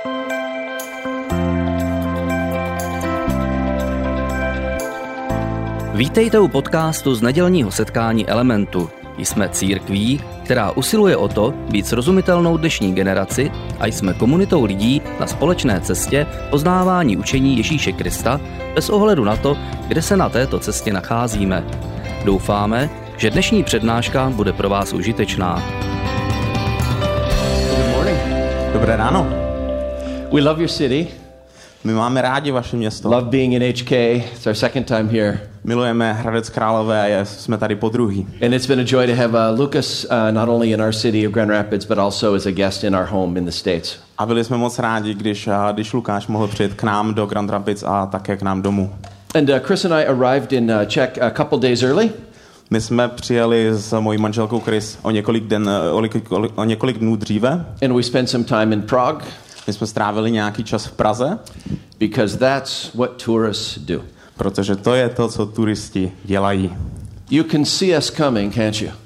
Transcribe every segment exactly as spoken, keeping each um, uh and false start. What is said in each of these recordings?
Vítejte u podcastu z nedělního setkání Elementu. Jsme církví, která usiluje o to být srozumitelnou dnešní generaci a jsme komunitou lidí na společné cestě poznávání učení Ježíše Krista bez ohledu na to, kde se na této cestě nacházíme. Doufáme, že dnešní přednáška bude pro vás užitečná. Good morning. Dobré ráno. We love your city. My máme rádi vaše město. Love being in H K. It's our second time here. Milujeme Hradec Králové a jsme tady po druhý. And it's been a joy to have uh, Lucas uh, not only in our city of Grand Rapids, but also as a guest in our home in the States. A byli jsme moc rádi, když, uh, když Lukáš mohl přijet k nám do Grand Rapids a také k nám domů. And uh, Chris and I arrived in uh, Czech a couple days early. My jsme přijeli s mojí manželkou Chris o několik, den, o, o, o několik dnů dříve. And we spent some time in Prague. My jsme strávili nějaký čas v Praze. Because that's what tourists do. Protože to je to, co turisti dělají. You can see us coming, can't you?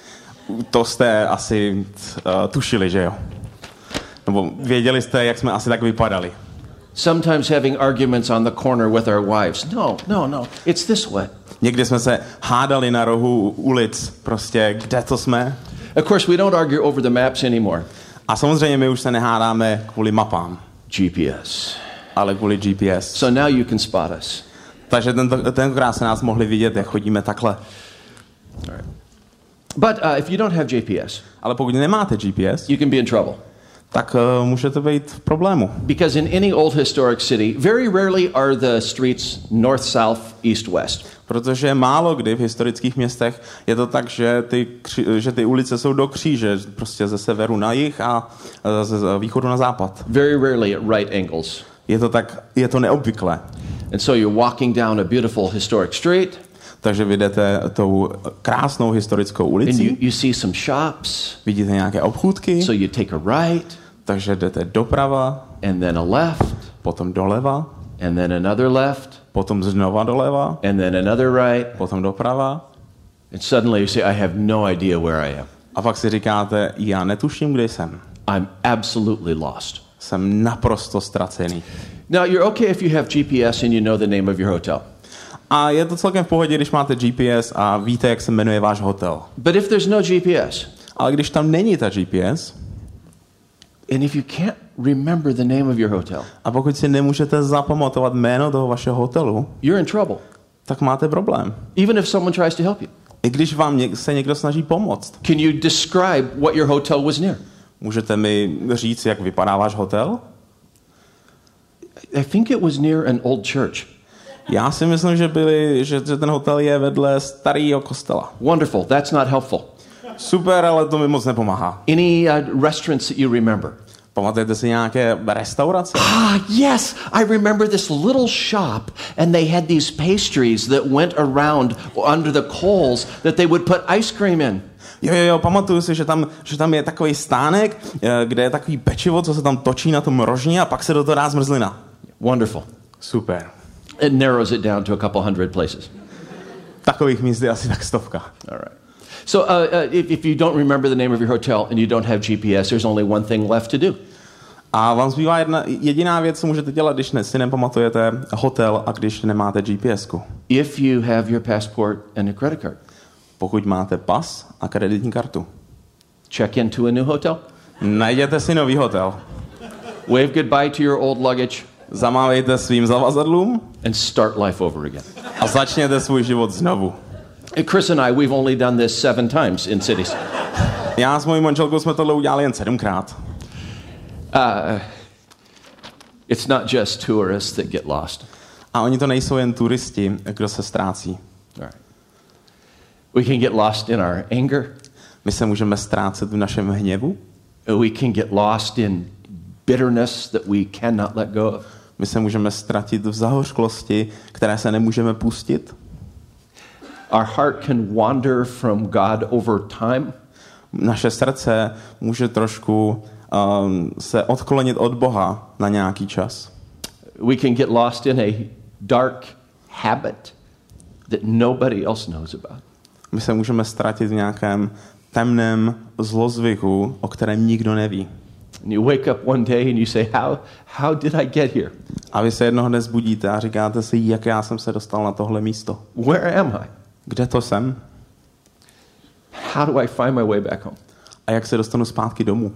To jste asi uh, tušili, že jo? Nebo věděli jste, jak jsme asi tak vypadali. Sometimes having arguments on the corner with our wives. No, no, no. It's this way. Někdy jsme se hádali na rohu ulic. Prostě, kde to jsme? Of course, we don't argue over the maps anymore. A samozřejmě my už se nehádáme kvůli mapám. G P S. Ale kvůli G P S. So now you can spot us. Takže tento, tentokrát se nás mohli vidět, jak chodíme takhle. All right. But uh, if you don't have G P S, ale pokud nemáte G P S, you can be in trouble. Tak uh, můžete být v problému. Because in any old historic city, very rarely are the streets north, south, east, west. Protože málo kdy v historických městech je to tak, že ty, že ty ulice jsou do kříže, prostě ze severu na jih a ze východu na západ. Very rarely at right angles. Je to tak, je to neobvyklé. And so you're walking down a beautiful historic street. Takže vy jdete tou krásnou historickou ulicí. And you, you see some shops. Vidíte nějaké obchůdky. So you take a right. Takže jdete doprava. And then a left. Potom doleva. And then another left. Potom znova doleva. And then another right. Potom doprava. And suddenly you say, I have no idea where I am. A pak si říkáte, já netuším, kde jsem. I'm absolutely lost. Jsem naprosto ztracený. Now, you're okay if you have G P S and you know the name of your hotel. A je to celkem v pohodě, když máte G P S a víte, jak se jmenuje váš hotel. But if there's no G P S, ale když tam není ta G P S, and if you can't remember the name of your hotel, a pokud si nemůžete zapamatovat jméno toho vašeho hotelu, you're in trouble. Tak máte problém. Even if someone tries to help you. I když vám něk- se někdo snaží pomoct. Can you describe what your hotel was near? Můžete mi říct, jak vypadá váš hotel? I think it was near an old church. Já si myslím, že, byli, že, že ten hotel je vedle starého kostela. Wonderful. That's not helpful. Super, ale to mi moc nepomáhá. Any uh, restaurants that you remember? Pamatujete si nějaké restaurace? Ah, yes. I remember this little shop and they had these pastries that went around under the coals that they would put ice cream in. Jo, jo, jo, pamatuju si, že tam, že tam je takový stánek, kde je takový pečivo, co se tam točí na tom rožně a pak se do toho dá zmrzlina. Wonderful. Super. It narrows it down to a couple hundred places. Takových míst je asi tak stovka. All right. So uh, uh, if, if you don't remember the name of your hotel and you don't have G P S, there's only one thing left to do. A vám zbývá jedna jediná věc, co můžete dělat, když ne, si nepamatujete hotel a když nemáte G P S ku. If you have your passport and a credit card. Pokud máte pas a kreditní kartu. Check into a new hotel. Najděte si nový hotel. Wave goodbye to your old luggage. Zamávejte svým zavazadlům. And start life over again. A začněte svůj život znovu. Chris and I, we've only done this seven times in cities. Já s mojí manželkou jsme tohle udělali jen sedmkrát. Uh, it's not just tourists that get lost. A oni to nejsou jen turisti, kdo se ztrácí. All right. We can get lost in our anger. My se můžeme ztrácet v našem hněvu. We can get lost in bitterness that we cannot let go of. My se můžeme ztratit v zahořklosti, které se nemůžeme pustit. Our heart can wander from God over time. Naše srdce může trošku um, se odklonit od Boha na nějaký čas. We can get lost in a dark habit that nobody else knows about. My se můžeme ztratit v nějakém temném zlozvyku, o kterém nikdo neví. And you wake up one day and you say, how, how did I get here? A vy se jednoho dne zbudíte a říkáte si, jak já jsem se dostal na tohle místo. Where am I? Kde to jsem? How do I find my way back home? A jak se dostanu zpátky domů?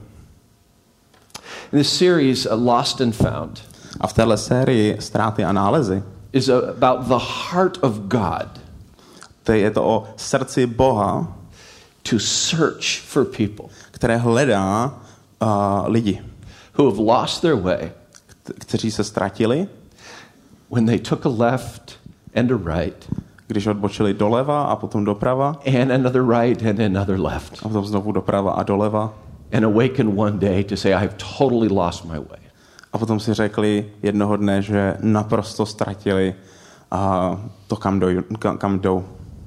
In this series, uh, Lost and Found, A v téhle sérii Ztráty a nálezy is about the heart of God to je to o srdci Boha, to search for people které hledá uh, lidi, who have lost their way k- kteří se ztratili, when they took a left and a right když odbočili doleva a potom doprava and another right and another left, a potom znovu doprava a doleva and awaken one day to say, I've totally lost my way. a potom si řekli jednoho dne, že naprosto ztratili uh, to, kam, doj, kam, kam jdou.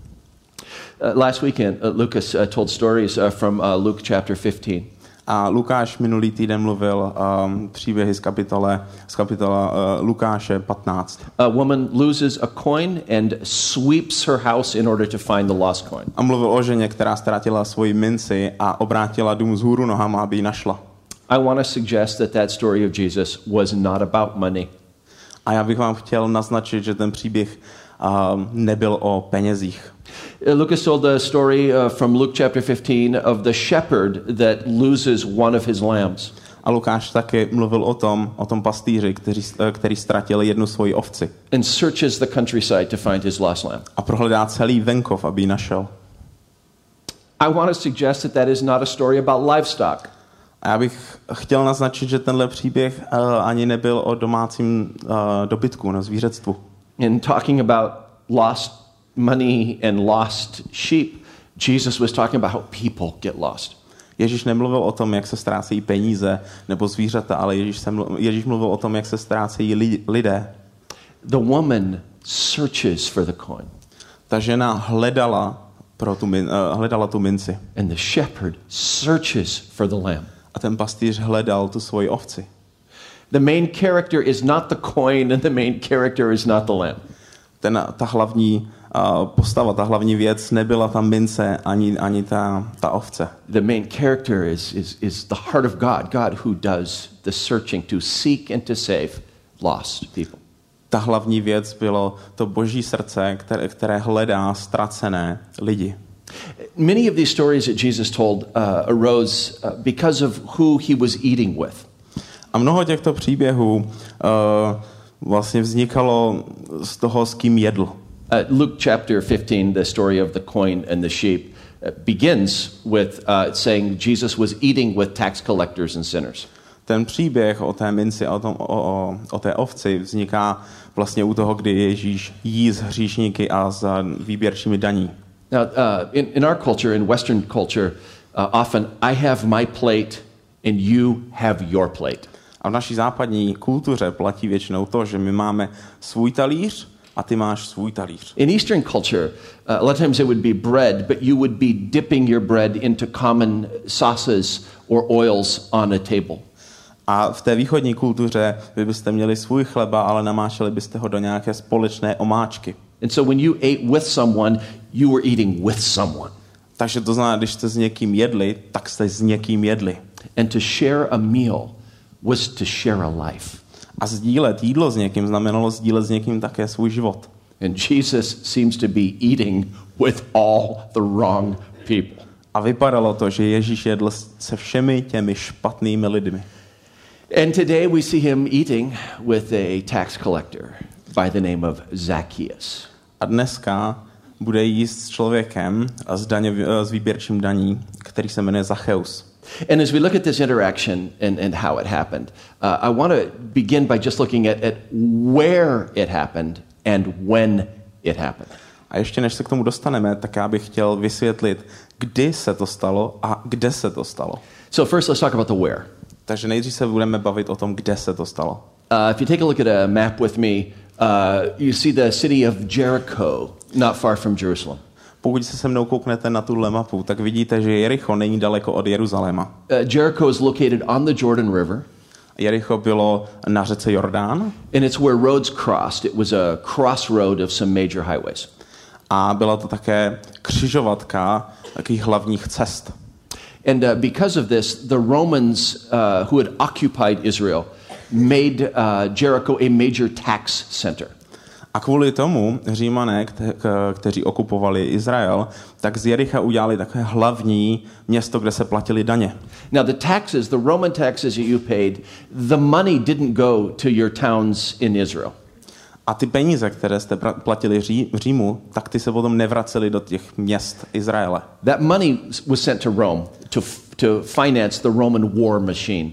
Uh, last weekend, uh, Lucas uh, told stories uh, from uh, Luke chapter fifteen. A Lukáš minulý týden mluvil um, příběhy z kapitole, z kapitola uh, Lukáše patnáct. A woman loses a coin and sweeps her house in order to find the lost coin. A mluvil o ženě, která ztratila svoji minci a obrátila dům vzhůru nohama, aby ji našla. I want to suggest that that story of Jesus was not about money. A já bych vám chtěl naznačit, že ten příběh um, nebyl o penězích. Uh, Lucas told the story uh, from Luke chapter fifteen of the shepherd that loses one of his lambs. A Lukáš taky mluvil o tom, o tom pastýři, který, který ztratil jednu svoji ovci. And searches the countryside to find his lost lamb. A prohledá celý venkov, aby ji našel. I want to suggest that that is not a story about livestock. A já bych chtěl naznačit, že tenhle příběh uh, ani nebyl o domácím uh, dobytku, na zvířectvu. In talking about lost money and lost sheep, Jesus was talking about how people get lost. Ježíš nemluvil o tom, jak se ztrácejí peníze nebo zvířata, ale Ježíš, se mluvil, Ježíš mluvil o tom, jak se ztrácejí li, lidé. The woman searches for the coin. Ta žena hledala, pro tu, min, uh, hledala tu minci. And the shepherd searches for the lamb. A ten pastýř hledal tu svoji ovci. The main character is not the coin and the main character is not the lamb. Ten, ta hlavní uh, postava, ta hlavní věc nebyla ta mince ani, ani ta, ta ovce. The main character is, is, is the heart of God, God who does the searching to seek and to save lost people. Ta hlavní věc bylo to boží srdce, které, které hledá ztracené lidi. Many of these stories that Jesus told uh, arose uh, because of who he was eating with. A mnoho těchto příběhů uh, vlastně vznikalo z toho, s kým jedl. Uh, Luke chapter fifteen, the story of the coin and the sheep, uh, begins with uh, saying Jesus was eating with tax collectors and sinners. Ten příběh o té minci a o, tom, o, o, o té ovci vzniká vlastně u toho, kdy Ježíš jí s hříšníky a s výběrčími daní. Now, uh, in, in our culture, in Western culture, uh, often I have my plate and you have your plate. A v naší západní kultuře platí většinou to, že my máme svůj talíř a ty máš svůj talíř. In Eastern culture, uh, a lot of times it would be bread, but you would be dipping your bread into common sauces or oils on a table. A v té východní kultuře vy byste měli svůj chleba, ale namáčeli byste ho do nějaké společné omáčky. And so when you ate with someone, you were eating with someone. Takže to znamená, když jste s někým jedli, tak jste s někým jedli. And to share a meal was to share a life. A sdílet jídlo s někým znamenalo sdílet s někým také svůj život. And Jesus seems to be eating with all the wrong people. A vypadalo to, že Ježíš jedl se všemi těmi špatnými lidmi. And today we see him eating with a tax collector by the name of Zacchaeus. A dneska bude jíst s člověkem s, daně, s výběrčím daní, který se jmenuje Zacchaeus. And as we look at this interaction and, and how it happened, uh, I want to begin by just looking at, at where it happened and when it happened. A ještě než se k tomu dostaneme, tak já bych chtěl vysvětlit, kdy se to stalo a kde se to stalo. So first let's talk about the where. Takže nejdřív se budeme bavit o tom, kde se to stalo. Uh, if you take a look at a map with me, uh, you see the city of Jericho, not far from Jerusalem. Pokud se se mnou kouknete na tuhle mapu, tak vidíte, že Jericho není daleko od Jeruzaléma. Uh, Jericho is located on the Jordan River. Jericho bylo na řece Jordán. And it's where roads crossed. It was a crossroad of some major highways. A byla to také křižovatka takových hlavních cest. And uh, because of this, the Romans uh, who had occupied Israel made uh, Jericho a major tax center. A kvůli tomu Římané, kte- k- kteří okupovali Izrael, tak z Jericha udělali takové hlavní město, kde se platili daně. Now the taxes, the Roman taxes that you paid, the money didn't go to your towns in Israel. A ty peníze, které jste pra- platili Ří- Římu, tak ty se potom nevracely do těch měst Izraele. That money was sent to Rome to, to finance the Roman war machine.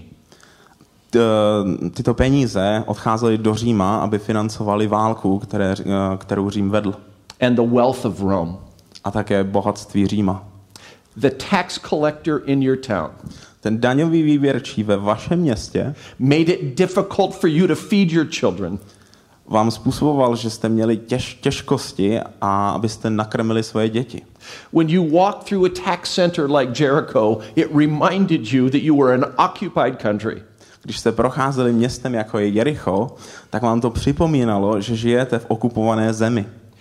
T- tyto peníze odcházely do Říma, aby financovali válku, které, kterou Řím vedl. And the wealth of Rome. A také bohatství Říma. The tax collector in your town Ten daňový výběrčí ve vašem městě made it difficult for you to feed your children. vám způsoboval, že jste měli těž, těžkosti a abyste nakrmili svoje děti. When you walked through a tax center like Jericho, it reminded you that you were an occupied country. Když jste procházeli městem jako je Jericho, tak vám to připomínalo, že žijete v okupované zemi.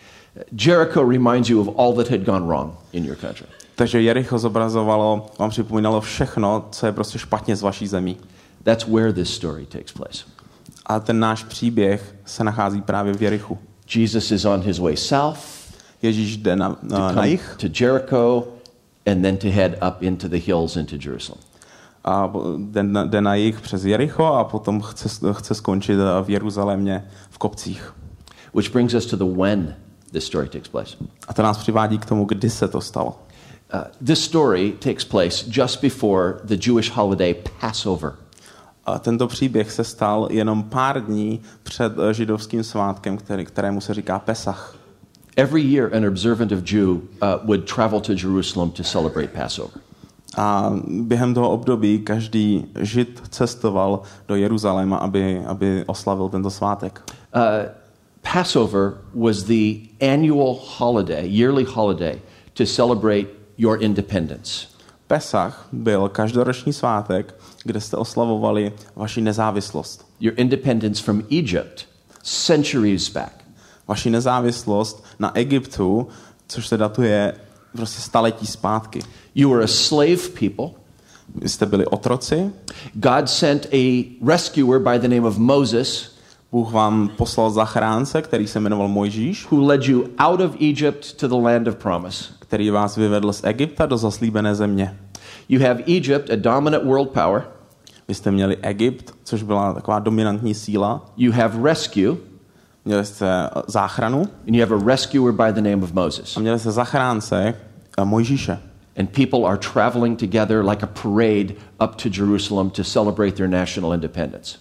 Jericho reminds you of all that had gone wrong in your country. Takže Jericho zobrazovalo, vám připomínalo všechno, co je prostě špatně z vaší zemí. That's where this story takes place. A ten náš příběh se nachází právě v Jerichu. Jesus is on his way south Ježíš jde na, to na, na come jih to Jericho and then to head up into the hills into Jerusalem. a jde na, jde na jih přes Jericho a potom chce, chce skončit v Jeruzalémě v kopcích. Which brings us to the when this story takes place. A to nás přivádí k tomu, kdy se to stalo. Uh, this story takes place just before the Jewish holiday Passover. A tento příběh se stal jenom pár dní před židovským svátkem, který, kterému se říká Pesach. Every year an observant of Jew uh, would travel to Jerusalem to celebrate Passover. A během toho období každý žid cestoval do Jeruzaléma, aby, aby oslavil tento svátek. Uh, Passover was the annual holiday, yearly holiday, to celebrate your independence. Pesach byl každoroční svátek, kde jste oslavovali vaši nezávislost. Your independence from Egypt, centuries back. Vaši nezávislost na Egyptu, což se datuje prostě staletí zpátky. You were a slave people. Vy jste byli otroci. God sent a rescuer by the name of Moses, Bůh vám poslal zachránce, který se jmenoval Mojžíš, who led you out of Egypt to the land of promise. který vás vyvedl z Egypta do zaslíbené země. You have Egypt, a dominant world power. Vy jste měli Egypt, což byla taková dominantní síla. You have rescue, Měli jste záchranu and you have a rescuer by the name of Moses. a měli jste zachránce a Mojžíše. And people are traveling together like a parade up to Jerusalem to celebrate their national independence.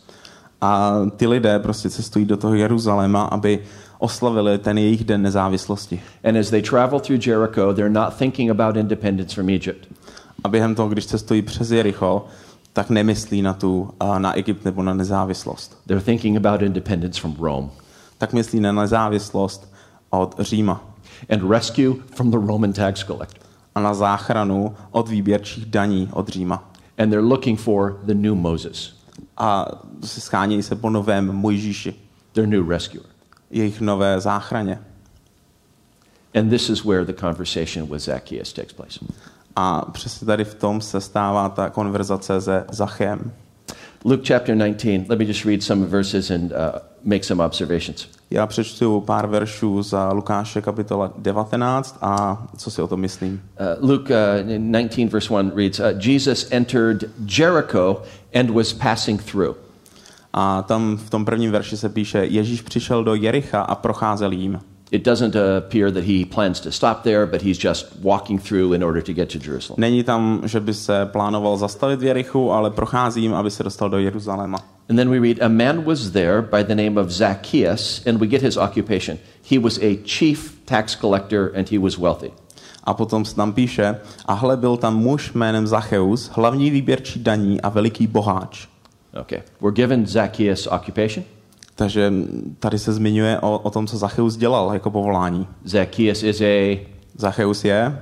A ty lidé prostě cestují do toho Jeruzaléma, aby oslavili ten jejich den nezávislosti. And as they travel through Jericho, they're not thinking about independence from Egypt. A během toho, když cestují přes Jericho, tak nemyslí na tu na Egypt nebo na nezávislost. They're thinking about independence from Rome. Tak myslí na nezávislost od Říma. And rescue from the Roman tax collector. A na záchranu od výběrčích daní od Říma. And they're looking for the new Moses, A se schánějí se po novém Mojžíši, their new rescuer. jejich nové záchraně. And this is where the conversation with Zacchaeus takes place. A přesně tady v tom se stává ta konverzace se Zachem. Luke chapter nineteen, let me just read some verses and uh, make some observations. Já přečtu pár veršů za Lukáše kapitola devatenáct a co si o tom myslím. Uh, Luke uh, nineteen verse one reads, uh, Jesus entered Jericho and was passing through. A tam v tom prvním verši se píše, Ježíš přišel do Jericha a procházel jím. It doesn't appear that he plans to stop there, but he's just walking through in order to get to Jerusalem. Není tam, že by se plánoval zastavit v Jerichu, ale prochází jim, aby se dostal do Jeruzaléma. And then we read, a man was there by the name of Zacchaeus, and we get his occupation. He was a chief tax collector and he was wealthy. A potom se tam píše, a hle byl tam muž jménem Zacheus, hlavní výběrčí daní a veliký boháč. Okay, we're given Zacchaeus occupation. Takže tady se zmiňuje o, o tom, co Zacheus dělal jako povolání. Zacchaeus is a Zacheus je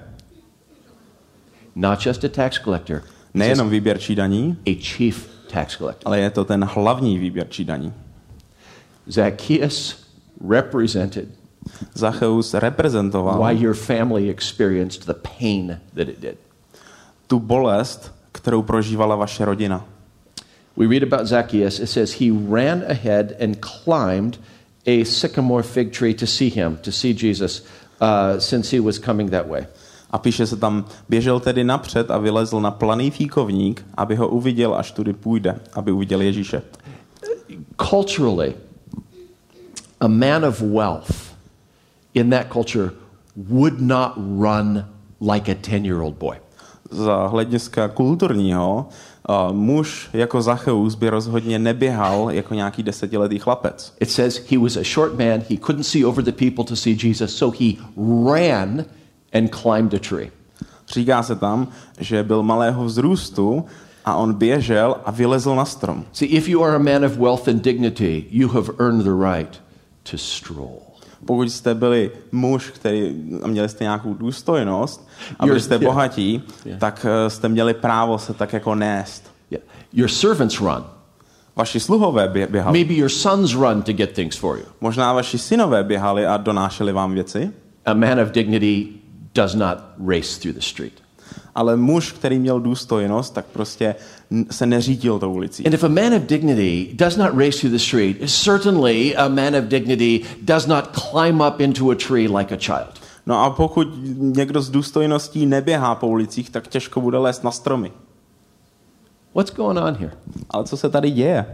not just a tax collector, nejenom výběrčí daní, a chief tax collector. ale je to ten hlavní výběrčí daní. Zacchaeus represented Zacheus reprezentoval why your family experienced the pain that it did. tu bolest, kterou prožívala vaše rodina. We read about Zacchaeus. It says he ran ahead and climbed a sycamore fig tree to see him, to see Jesus, uh, since he was coming that way. A píše se tam, běžel tedy napřed a vylezl na planý fíkovník, aby ho uviděl, až tudy půjde, aby uviděl Ježíše. Culturally, a man of wealth in that culture would not run like a ten-year-old boy. Z hlediska kulturního, uh, muž jako Zacheus by rozhodně neběhal jako nějaký desetiletý chlapec. It says he was a short man, he couldn't see over the people to see Jesus, so he ran and climbed a tree. Říká se tam, že byl malého vzrůstu a on běžel a vylezl na strom. See, if you are a man of wealth and dignity, you have earned the right to stroll. Pokud jste byli muž, který a měli jste nějakou důstojnost a byli jste bohatí, yeah. tak jste měli právo se tak jako nést. Yeah. Your servants run. Vaši sluhové běhali. Maybe your sons run to get things for you. Možná vaši synové běhali a donášeli vám věci. A man of dignity does not race through the street. Ale muž, který měl důstojnost, tak prostě se neřídil tou ulicí. And if a man of dignity does not race through the street, certainly a man of dignity does not climb up into a tree like a child. No a pokud někdo s důstojností neběhá po ulicích, tak těžko bude lézt na stromy. What's going on here? Ale co se tady děje?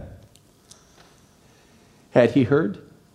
Had he heard?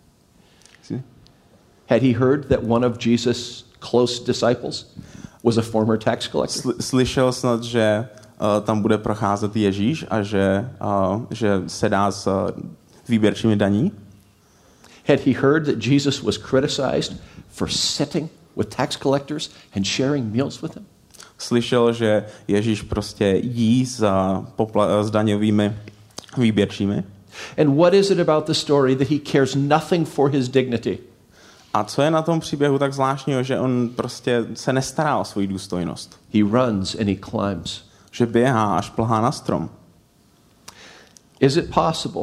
Had he heard that one of Jesus' close disciples was a former tax collector? Slyšel snad, že uh, tam bude procházet Ježíš a že, uh, že se dá s uh, výběrčími daní? Had he heard that Jesus was criticized for sitting with tax collectors and sharing meals with them? Slyšel, že Ježíš prostě jí s, popla- s daňovými výběrčími? And what is it about the story that he cares nothing for his dignity? A co je na tom příběhu tak zvláštního, že on prostě se nestará o svou důstojnost? He runs and he climbs. Že běhá až plhá na strom. Is it possible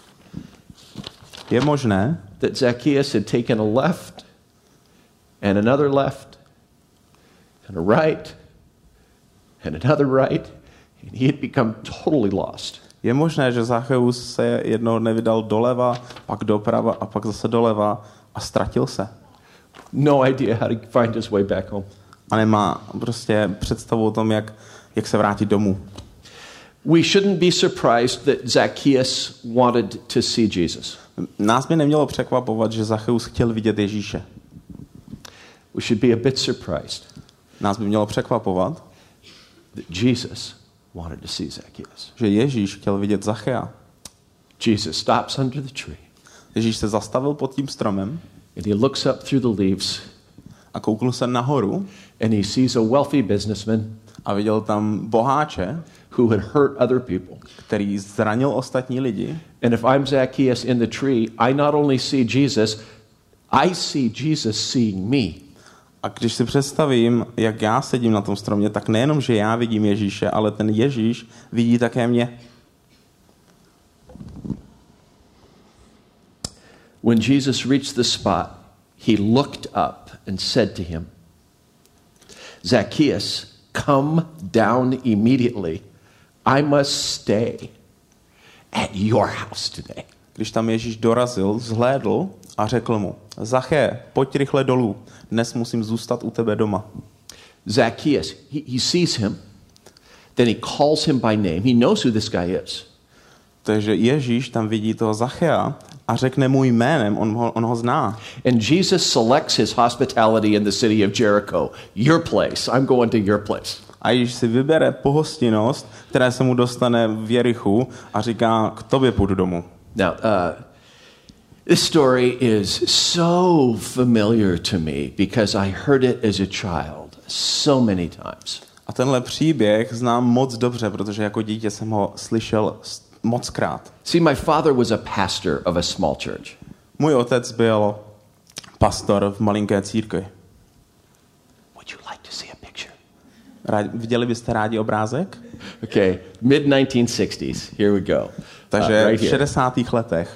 Je možné, that Zacchaeus had taken a left and another left and a right and another right and he had become totally lost? Je možné, že Zacheus se jednoho dne vydal doleva, pak doprava a pak zase doleva a ztratil se. No idea how to find his way back home. A nemá prostě představu o tom, jak, jak se vrátit domů. We shouldn't be surprised that Zacchaeus wanted to see Jesus. Nás by nemělo překvapovat, že Zacheus chtěl vidět Ježíše. We should be a bit surprised. Nás by mělo překvapovat, that Jesus wanted to see Zacchaeus. Že Ježíš chtěl vidět Zachea. Jesus stops under the tree. Ježíš se zastavil pod tím stromem. And he looks up through the leaves. A kouknul se nahoru. And he sees a wealthy businessman. A viděl tam boháče, who had hurt other people. Který zranil ostatní lidi. And if I'm Zacchaeus in the tree, I not only see Jesus, I see Jesus seeing me. A když si představím, jak já sedím na tom stromě, tak nejenom, že já vidím Ježíše, ale ten Ježíš vidí také mě. When Jesus reached the spot, he looked up and said to him, Zacchaeus, come down immediately. I must stay at your house today. Když tam Ježíš dorazil, zhlédl a řekl mu, Zaché, pojď rychle dolů, dnes musím zůstat u tebe doma. Zacchaeus, he, he sees him, then he calls him by name. He knows who this guy is. Takže Ježíš tam vidí toho Zachea a řekne mu jménem, on ho, on ho zná. And Jesus selects his hospitality in the city of Jericho. Your place. I'm going to your place. A Ježíš si vybere pohostinnost, která se mu dostane v Jerichu a říká, k tobě půjdu domů. Now, uh, this story is so familiar to me because I heard it as a child so many times. A tenhle příběh znám moc dobře, protože jako dítě jsem ho slyšel mockrát. See, my father was a pastor of a small church. Můj otec byl pastor v malinké církvi. Would you like to see a picture? Rádi, viděli byste rádi obrázek? Okay, mid nineteen sixties. Here we go. Takže uh, right v šedesátých letech.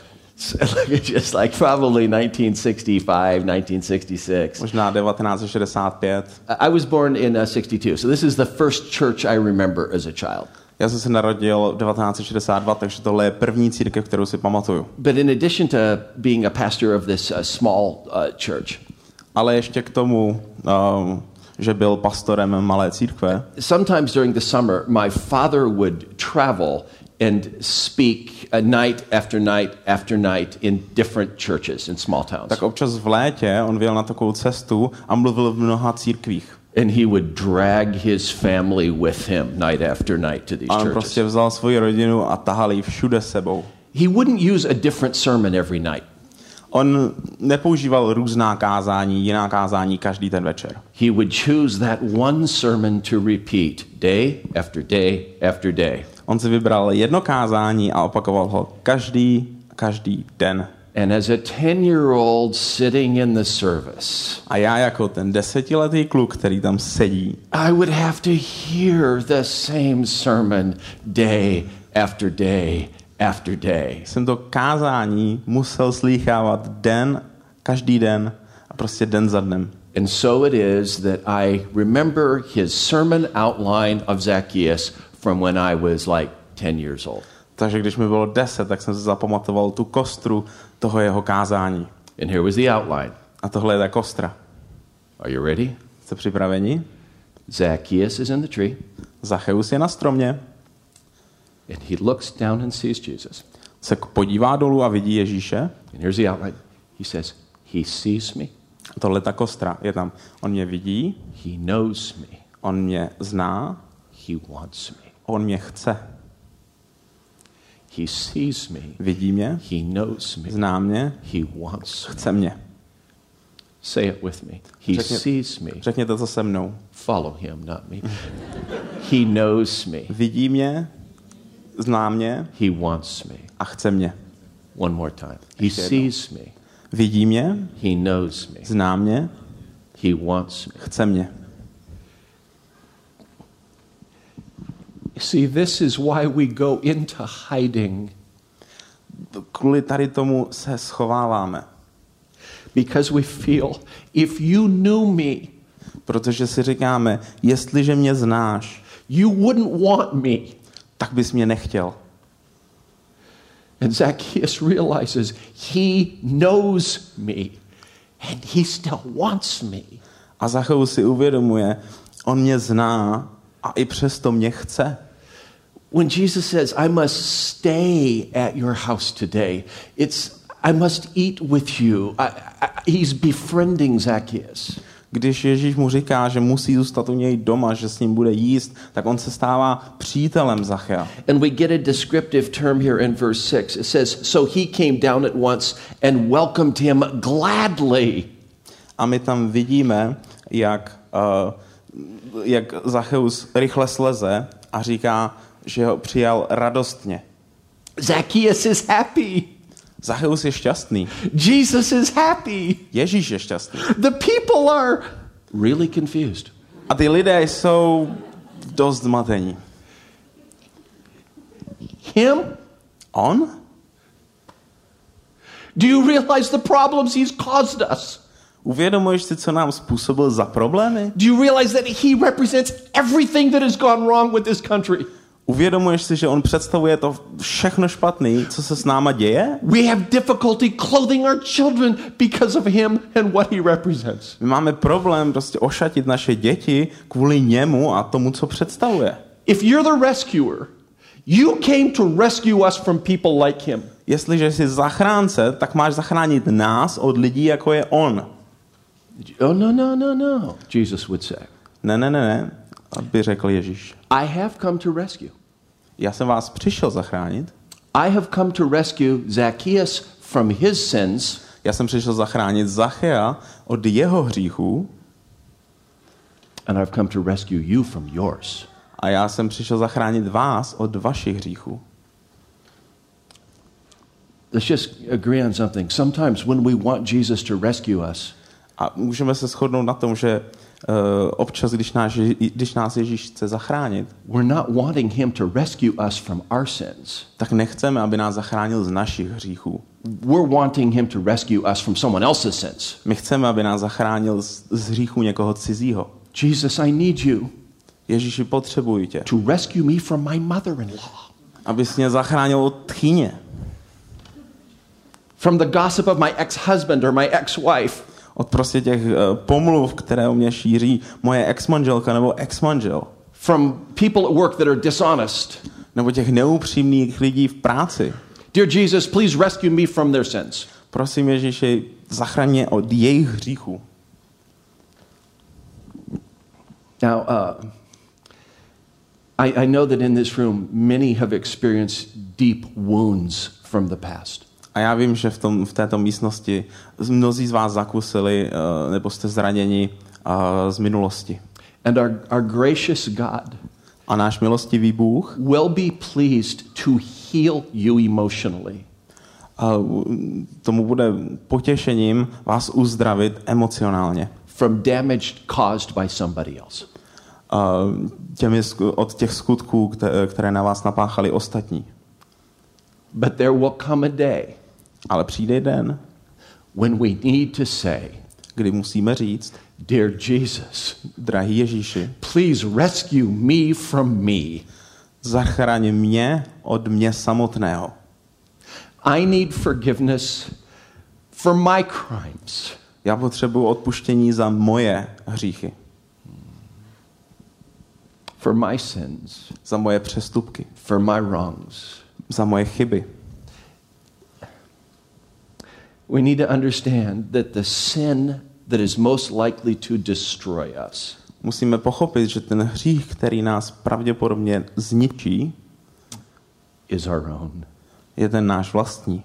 Just like probably nineteen sixty-five, nineteen sixty-six. Možná devatenáct set šedesát pět. I was born in uh, sixty-two, so this is the first church I remember as a child. Já jsem se narodil v devatenáct set šedesát dva, takže tohle je první církev, kterou si pamatuju. But in addition to being a pastor of this uh, small uh, church, ale ještě k tomu, um, že byl pastorem malé církve. Sometimes during the summer, my father would travel and speak a night after night after night in different churches in small towns. Tak občas v létě on vyjel na takovou cestu a mluvil v mnoha církvích. And he would drag his family with him night after night to these a on churches. prostě vzal svoji rodinu a tahal ji všude sebou. He wouldn't use a different sermon every night. On nepoužíval různá kázání, jiná kázání každý ten večer. He would choose that one sermon to repeat day after day after day. On si vybral jedno kázání a opakoval ho každý, každý den. And as a ten-year-old sitting in the service, a já jako ten desetiletý kluk, který tam sedí, I would have to hear the same sermon day after day after day. Jsem to kázání musel slýchávat den, každý den a prostě den za dnem. And so it is that I remember his sermon outline of Zacchaeus from when I was like ten years old. Takže když mi bylo deset, tak jsem si zapamatoval tu kostru toho jeho kázání. And here was the outline. A tohle je ta kostra. Are you ready? Jste připraveni? Zacchaeus is in the tree. Zacheus je na stromě. And he looks down and sees Jesus. Se podívá dolů a vidí Ježíše. And here's the outline. He says, he sees me. Tohle ta kostra je tam. On mě vidí. He knows me. On mě zná. He wants me. On mě chce. He sees me. Vidí mě. He knows me. Zná mě. He wants me. Chce mě. Say it with me. He Řekně, sees me. Řekněte to se mnou. Follow him, not me. He knows me. Vidí mě. Zná mě. He wants me. A chce mě. One more time. He sees me. Vidí mě. He knows me. Zná mě. He wants me. Chce mě. See, this is why we go into hiding. Kvůli tady tomu se schováváme. Because we feel, if you knew me, protože si říkáme, jestliže mě znáš, you wouldn't want me. Tak bys mě nechtěl. And Zacchaeus realizes he knows me and he still wants me. A Zacheus si uvědomuje, on mě zná a i přesto mě chce. When Jesus says, I must stay at your house today, it's, I must eat with you. I, I, he's befriending Zacchaeus. Když Ježíš mu říká, že musí zůstat u něj doma, že s ním bude jíst, tak on se stává přítelem Zachea. And we get a descriptive term here in verse six. It says, so he came down at once and welcomed him gladly. A my tam vidíme, jak, uh, jak Zacheus rychle sleze a říká, že ho přijal radostně. Zacchaeus is happy. Zacheus je šťastný. Jesus is happy. Ježíš je šťastný. The people are really confused. A ty lidé jsou dost zmatení. Him? On? Do you realize the problems he's caused us? Uvědomuješ si, co nám způsobil za problémy? Do you realize that he represents everything that has gone wrong with this country? Uvědomuješ si, že on představuje to všechno špatný, co se s náma děje? We have difficulty clothing our children because of him and what he represents. My máme problém prostě ošatit naše děti kvůli němu a tomu, co představuje. If you're the rescuer, you came to rescue us from people like him. Jestliže jsi zachránce, tak máš zachránit nás od lidí, jako je on. Oh, no, no, no, no, Jesus would say. Ne, ne, ne, ne, aby řekl Ježíš. I have come to rescue. Já jsem vás přišel zachránit. I have come to rescue Zacchaeus from his sins. Já jsem přišel zachránit Zachea od jeho hříchů. And I've come to rescue you from yours. A já jsem přišel zachránit vás od vašich hříchů. Let's just agree on something. Sometimes when we want Jesus to rescue us, A můžeme se shodnout na tom, že uh, občas, když nás, když nás Ježíš chce zachránit, we're not wanting him to rescue us from our sins. tak nechceme, aby nás zachránil z našich hříchů. We're wanting him to rescue us from someone else's sins. My chceme, aby nás zachránil z, z hříchů někoho cizího. Jesus, I need you Ježíši, potřebuji tě, to rescue me from my mother-in-law. abys mě zachránil od tchýně, From the gossip of my ex-husband or my ex-wife. od prostě těch uh, pomluv, které o mě šíří moje ex-manželka nebo ex-manžel, From people at work that are dishonest. nebo těch neupřímných lidí v práci. Dear Jesus, please rescue me from their sins. Prosím Ježíši, zachraň mě od jejich hříchů. Now, uh, I, I know that in this room, many have experienced deep wounds from the past. A já vím, že v, tom, v této místnosti mnozí z vás zakusili, uh, nebo jste zraněni uh, z minulosti. And our, our gracious God A náš milostivý Bůh will be pleased to heal you emotionally. uh, tomu bude potěšením vás uzdravit emocionálně. From damage caused by somebody else. Uh, těmi, od těch skutků, které, které na vás napáchali ostatní. But there will come a day Ale přijde den, when we need to say, kdy musíme říct, Dear Jesus, drahý Ježíši, please rescue me from me. zachraň mě od mě samotného. I need forgiveness for my crimes. Já potřebuji odpuštění za moje hříchy, For my sins, za moje přestupky, for my wrongs. za moje chyby. We need to understand that the sin that is most likely to destroy us Musíme pochopit, že ten hřích, který nás pravděpodobně zničí, is our own. je ten náš vlastní.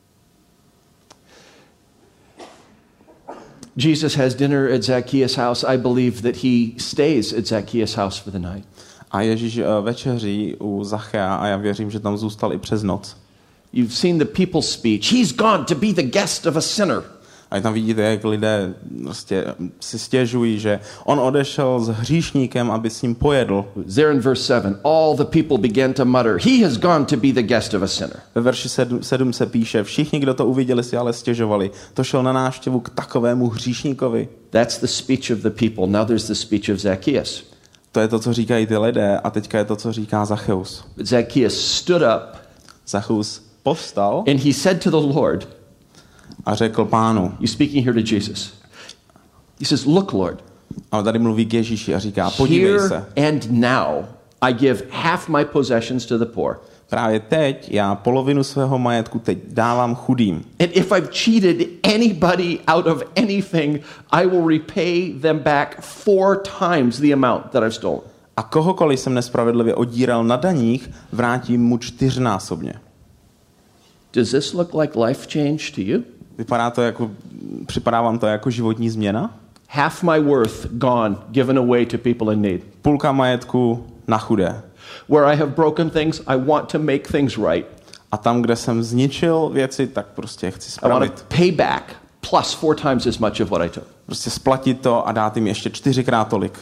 Jesus has dinner at Zacchaeus' house. I believe that he stays at Zacchaeus' house for the night. A Ježíš uh, večeří u Zachea a já věřím, že tam zůstal i přes noc. You've seen the people's speech. He's gone to be the guest of a sinner. A tam vidíte, jak lidé prostě si stěžují, že on odešel s hříšníkem, aby s ním pojedl. There in verse seven, all the people began to mutter, he has gone to be the guest of a sinner. Ve verši sedm se píše, všichni, kdo to uviděli, si ale stěžovali. To šel na návštěvu k takovému hříšníkovi. That's the speech of the people. Now there's the speech of Zacchaeus. To je to, co říkají ty lidé, a teďka je to, co říká Zacheus. But Zacchaeus stood up Zacheus povstal and he said to the Lord, a řekl Pánu. he's speaking here to Jesus. He says, look, Lord, A tady mluví k Ježíši a říká, podívej se. here and now I give half my possessions to the poor. Právě teď já polovinu svého majetku teď dávám chudým. And if I've cheated anybody out of anything, I will repay them back four times the amount that I've stolen. A kohokoliv jsem nespravedlivě odíral na daních, vrátím mu čtyřnásobně. Does this look like life change to you? Vypadá to jako, připadá vám to jako životní změna? Half my worth gone, given away to people in need. Půlka majetku na chudé. Where I have broken things, I want to make things right. A tam, kde jsem zničil věci, tak prostě chci I want spravit. to pay back plus four times as much of what I took. Prostě splatit to a dát jim ještě čtyřikrát tolik.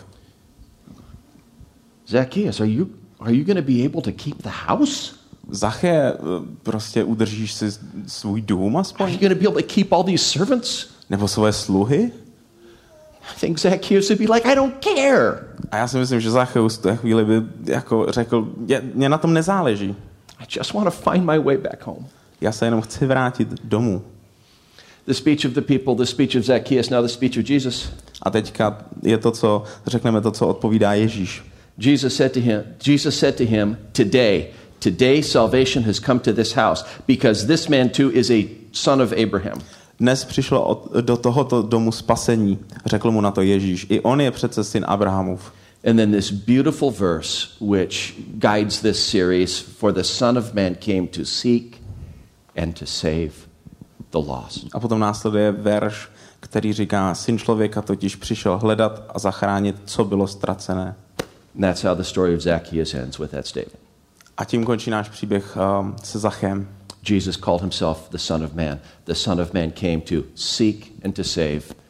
Zacchaeus, are you are you going to be able to keep the house? Zache, prostě udržíš si svůj dům Are aspoň? you going to be able to keep all these servants? Nebo svoje sluhy? I think Zacchaeus would be like, I don't care. A já si myslím, že Zacheus v té chvíli by jako řekl, mě na tom nezáleží. I just want to find my way back home. Já se jenom chci vrátit domů. The speech of the people, the speech of Zacchaeus, now the speech of Jesus. A teďka je to, co řekneme to, co odpovídá Ježíš. Jesus said to him, Jesus said to him, today, today salvation has come to this house, because this man too is a son of Abraham. Dnes přišlo od, do tohoto domu spasení, řekl mu na to Ježíš. I on je přece syn Abrahamův. And then this beautiful verse which guides this series, for the Son of Man came to seek and to save the lost. A potom následuje verš, který říká, syn člověka totiž přišel hledat a zachránit, co bylo ztracené. And that's how the story of Zacchaeus ends, with that statement. A tím končí náš příběh um, se Zachem. Jesus called himself the Son of Man. The Son of Man came to seek and to save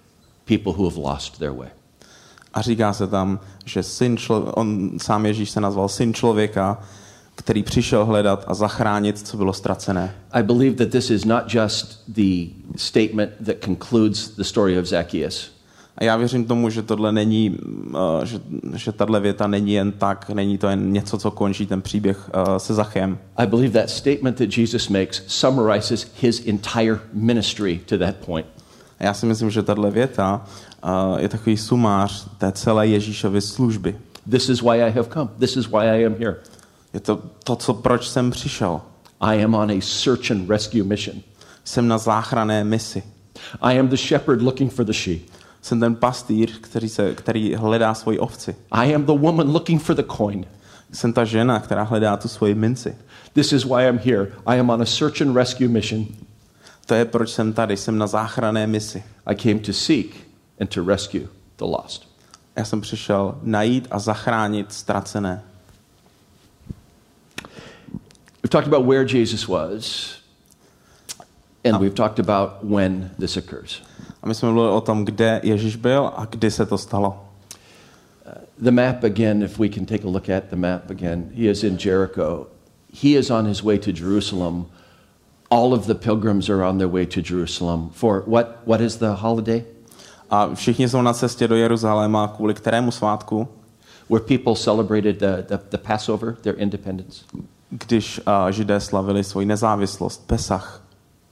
people who have lost their way. A říká se tam, že syn člo- on sám Ježíš se nazval syn člověka, který přišel hledat a zachránit, co bylo ztracené. I believe that this is not just the statement that concludes the story of Zacchaeus. A já věřím tomu, že tohle není, uh, že, že tahle věta není jen tak, není to jen něco, co končí ten příběh uh, se Zachem. I believe that statement that Jesus makes summarizes his entire ministry to that point. A já si myslím, že tahle věta uh, je takový sumář té celé Ježíšovy služby. This is why I have come. This is why I am here. Je to to, co, proč jsem přišel. I am on a search and rescue mission. Jsem na záchranné misi. I am the shepherd looking for the sheep. Jsem ten pastýř, který, se, který hledá svoji ovci. I am the woman looking for the coin. Jsem ta žena, která hledá tu svoji minci. This is why I'm here. I am on a search and rescue mission. To je, proč jsem tady. Jsem na záchranné misi. I came to seek and to rescue the lost. Já jsem přišel najít a zachránit ztracené. We've talked about where Jesus was, and we've talked about when this occurs. A my jsme mluvili o tom, kde Ježíš byl a kdy se to stalo. The map again, if we can take a look at the map again, he is in Jericho. He is on his way to Jerusalem. All of the pilgrims are on their way to Jerusalem. For what, what is the holiday? A všichni jsou na cestě do Jeruzaléma kvůli kterému svátku? Where people celebrated the, the, the Passover, their independence. Když uh, Židé slavili svoji nezávislost, Pesach.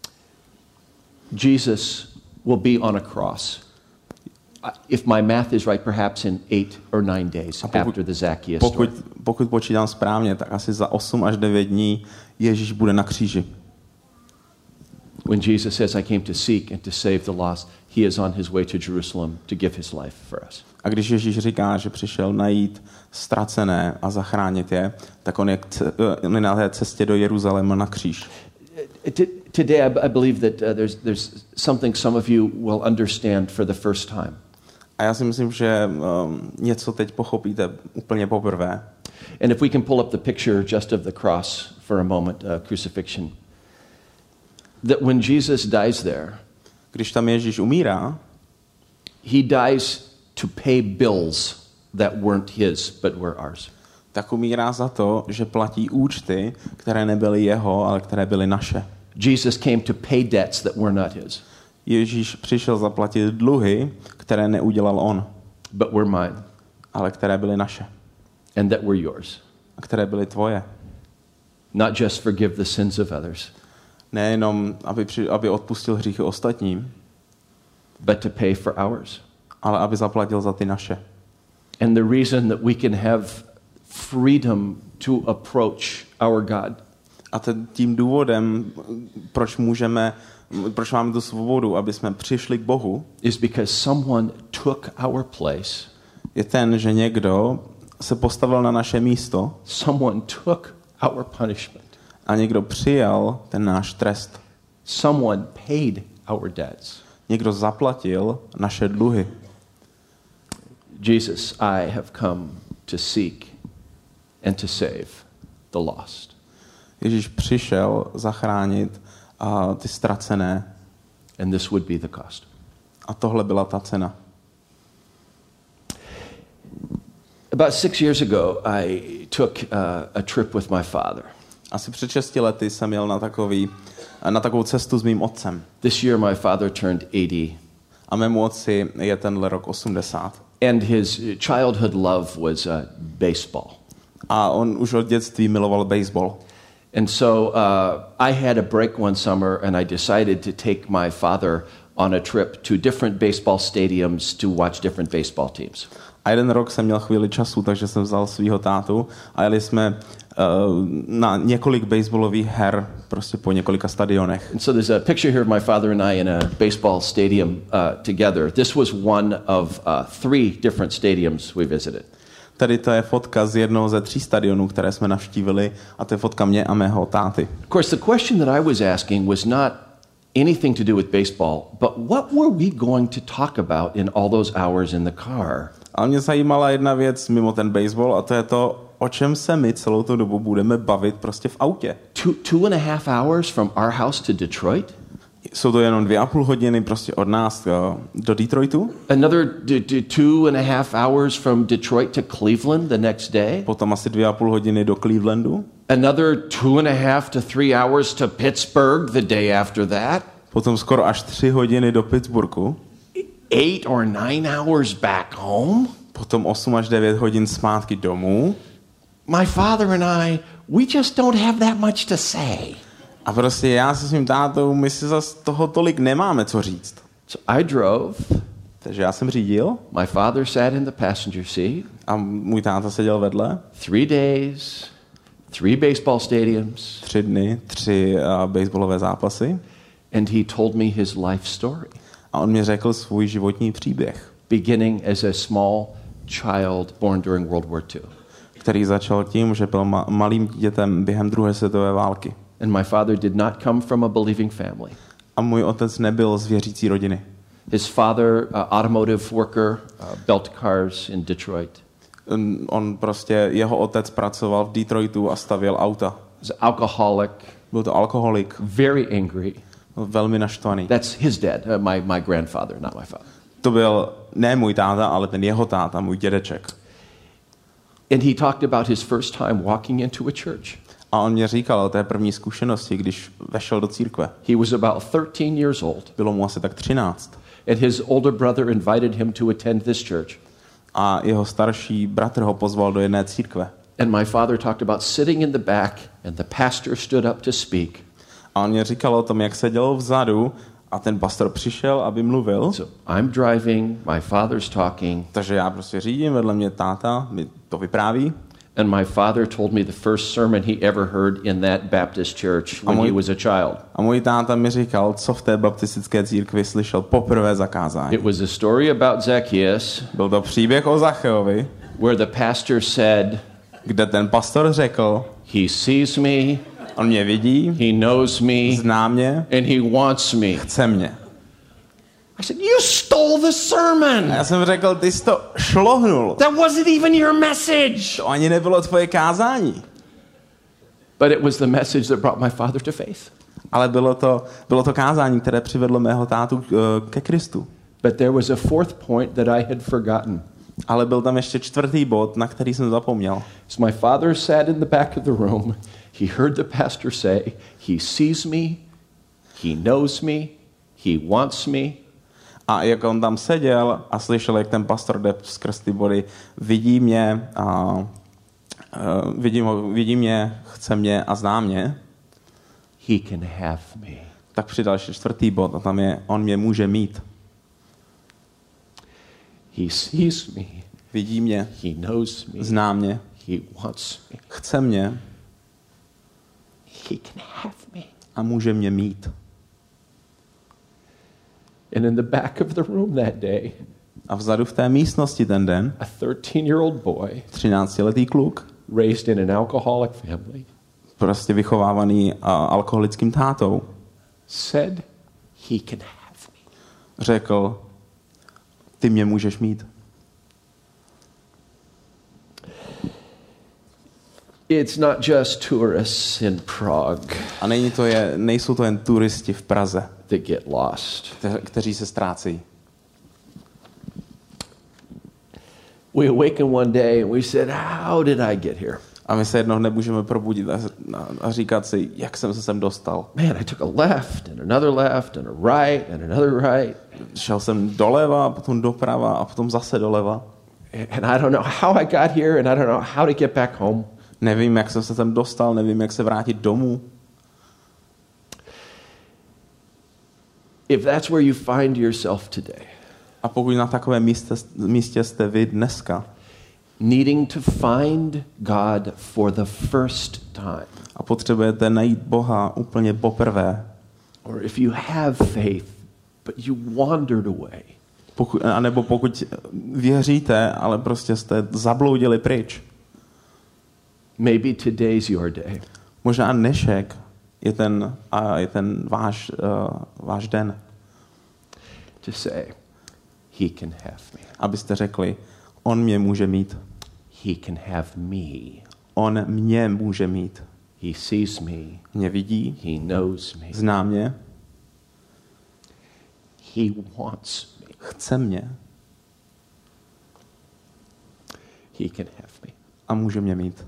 Jesus will be on a cross. If my math is right, perhaps in eight or nine days pokud, after the Zacchaeus pokud, story. pokud počítám správně, tak asi za osm až devět dní Ježíš bude na kříži. When Jesus says, I came to seek and to save the lost, he is on his way to Jerusalem to give his life for us. A když Ježíš říká, že přišel najít ztracené a zachránit je, tak on je, on je na té cestě do Jeruzaléma na kříž. Today I believe that uh, there's, there's something some of you will understand for the first time. A já si myslím, že um, něco teď pochopíte úplně poprvé. And if we can pull up the picture just of the cross for a moment, uh, crucifixion. That when Jesus dies there, když tam Ježíš umírá, he dies to pay bills that weren't his but were ours. Tak umírá za to, že platí účty, které nebyly jeho, ale které byly naše. Jesus came to pay debts that were not his. Ježíš přišel zaplatit dluhy, které neudělal on, but were mine, ale které byly naše. And that were yours. A které byly tvoje. Not just forgive the sins of others. Nejenom, aby, při, aby odpustil hříchy ostatním, but to pay for ours. Ale aby zaplatil za ty naše. And the reason that we can have freedom to approach our God. A tím důvodem, proč můžeme, proč máme tu svobodu, aby jsme přišli k Bohu, is because someone took our place. Je ten, že někdo se postavil na naše místo. Someone took our punishment. A někdo přijal ten náš trest. Someone paid our debts. Někdo zaplatil naše dluhy. Jesus, I have come to seek and to save the lost. Ježíš přišel zachránit uh, ty ztracené. And this would be the cost. A tohle byla ta cena. About six years ago, I took uh, a trip with my father. Asi před šesti lety jsem jel na takový, na takovou cestu s mým otcem. This year my father turned eighty. A mému otci je tenhle rok osmdesát. And his childhood love was uh, baseball. A on už od dětství miloval baseball. And so uh, I had a break one summer and I decided to take my father on a trip to different baseball stadiums to watch different baseball teams. A jeden rok jsem měl chvíli času, takže jsem vzal svého tátu a jeli jsme uh, na několik baseballových her prostě po několika stadionech. And so there's a picture here of my father and I in a baseball stadium uh, together. This was one of uh, three different stadiums we visited. Tady to je fotka z jednoho ze tří stadionů, které jsme navštívili, a to je fotka mě a mého táty. Of course, the question that I was asking was not anything to do with baseball, but what were we going to talk about in all those hours in the car? A mě zajímala jedna věc mimo ten baseball, a to je to, o čem se my celou tu dobu budeme bavit prostě v autě. Two, two and a half hours from our house to Detroit? Jsou to jenom dvě a půl hodiny prostě od nás uh, do Detroitu. Another d- d- two and a half hours from Detroit to Cleveland the next day. Potom asi dvě a půl hodiny do Clevelandu. Another two and a half to three hours to Pittsburgh the day after that. Potom skoro až tři hodiny do Pittsburghu. Eight or nine hours back home. Potom osm až devět hodin zpátky domů. My father and I, we just don't have that much to say. A prostě já se svým tátou, my si zas toho tolik nemáme co říct. So I drove. Takže já jsem řídil. My father sat in the passenger seat. A můj táta seděl vedle. Three days, three baseball stadiums. Tři dny, tři uh, baseballové zápasy. And he told me his life story. A on mi řekl svůj životní příběh. Beginning as a small child born during World War Two. Který začal tím, že byl ma- malým dítětem během druhé světové války. And my father did not come from a believing family. A můj otec nebyl z věřící rodiny. His father, uh, automotive worker, uh, built cars in Detroit. On, on prostě, jeho otec pracoval v Detroitu a stavěl auta. He's an alcoholic. Byl to alkoholik. Very angry. Byl velmi naštvaný. That's his dad, uh, my, my grandfather, not my father. To byl ne můj táta, ale ten jeho táta, můj dědeček. And he talked about his first time walking into a church. A on mě říkal o té první zkušenosti, když vešel do církve. He was about thirteen years old. Bylo mu asi tak třináct. And his older brother invited him to attend this church. A jeho starší bratr ho pozval do jedné církve. And my father talked about sitting in the back and the pastor stood up to speak. A on mě říkal o tom, jak seděl vzadu a ten pastor přišel, aby mluvil. So I'm driving, my father's talking. Takže já prostě řídím, vedle mě táta mi to vypráví. And my father told me the first sermon he ever heard in that Baptist church when he was a child. A můj táta mi říkal, co v té baptistické církvi slyšel poprvé zakázání. It was a story about Zacchaeus. Byl to příběh o Zacheovi, where the pastor said, kde ten pastor řekl, he sees me, on mě vidí, he knows me, zná mě, and he wants me. chce mě. I said, you stole the sermon. A já jsem řekl, ty jsi to šlohnul. That wasn't even your message. To ani nebylo tvoje kázání. But it was the message that brought my father to faith. Ale bylo to, bylo to kázání, které přivedlo mého tátu uh, ke Kristu. But there was a fourth point that I had forgotten. Ale byl tam ještě čtvrtý bod, na který jsem zapomněl. So my father sat in the back of the room. He heard the pastor say, he sees me, he knows me, he wants me. A jak on tam seděl a slyšel, jak ten pastor jde skrz ty body, vidí mě, a, uh, vidí, vidí mě, chce mě a zná mě, he can have me. Tak přidal ještě čtvrtý bod a tam je, on mě může mít. He sees me. Vidí mě, He knows me. zná mě, He wants me. chce mě He can have me. a může mě mít. And in the back of the room that day, A vzadu v té místnosti ten den a thirteen-year-old boy třináctiletý kluk, raised in an alcoholic family, prostě vychovávaný a, alkoholickým tátou, said, he can have me. řekl, ty mě můžeš mít. It's not just tourists in Prague A není to je, nejsou to jen turisti v Praze, that get lost. kte, kteří se ztrácejí. We awakened one day and we said, how did I get here? A my se jednoho nemůžeme probudit a, a, a říkat si, jak jsem se sem dostal. Man, I took a left and another left and a right and another right. Šel jsem doleva, potom doprava a potom zase doleva. And I don't know how I got here and I don't know how to get back home. Nevím, jak jsem se sem dostal, nevím, jak se vrátit domů. If that's where you find yourself today, A pokud na takovém místě, místě jste vy dneska needing to find God for the first time, a potřebujete najít Boha úplně poprvé, or if you have faith but you wandered away, pokud, anebo pokud věříte, ale prostě jste zabloudili pryč, maybe today's your day. možná dnešek je ten, a je ten váš, uh, váš den, To say, he can have me. abyste řekli, on mě může mít. He can have me. On mě může mít. He sees me. Mě vidí, He knows me. zná mě He wants me. Chce mě. He can have me. A může mě mít.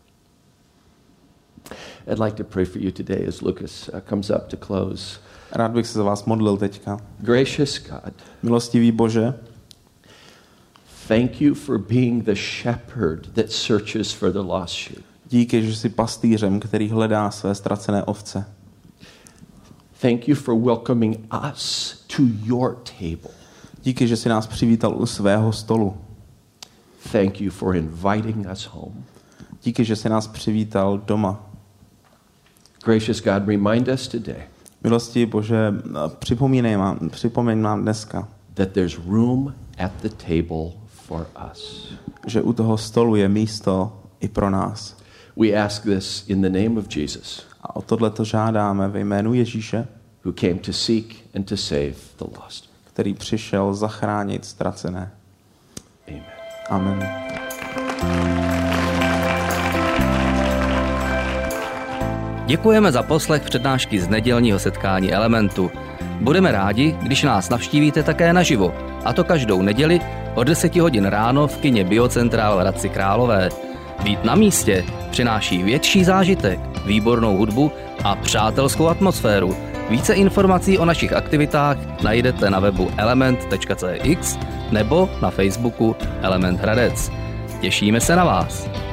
I'd like to pray for you today as Lucas uh, comes up to close. Rád bych se za vás modlil teďka. Gracious God, Milostivý Bože, thank you for being the shepherd that searches for the lost sheep. díky, že jsi pastýřem, který hledá své ztracené ovce. Thank you for welcoming us to your table. Díky, že jsi nás přivítal u svého stolu. Thank you for inviting us home. Díky, že jsi nás přivítal doma. Gracious God, remind us today Milostivý Bože, připomínej nám, připomeň nám dneska, that there's room at the table for us. že u toho stolu je místo i pro nás. We ask this in the name of Jesus, A o tohle to žádáme ve jménu Ježíše, who came to seek and to save the lost. který přišel zachránit ztracené. Amen. Amen. Děkujeme za poslech přednášky z nedělního setkání Elementu. Budeme rádi, když nás navštívíte také naživo, a to každou neděli od deseti hodin ráno v kině Biocentrál v Hradci Králové. Být na místě přináší větší zážitek, výbornou hudbu a přátelskou atmosféru. Více informací o našich aktivitách najdete na webu element tečka cé x nebo na Facebooku Element Hradec. Těšíme se na vás.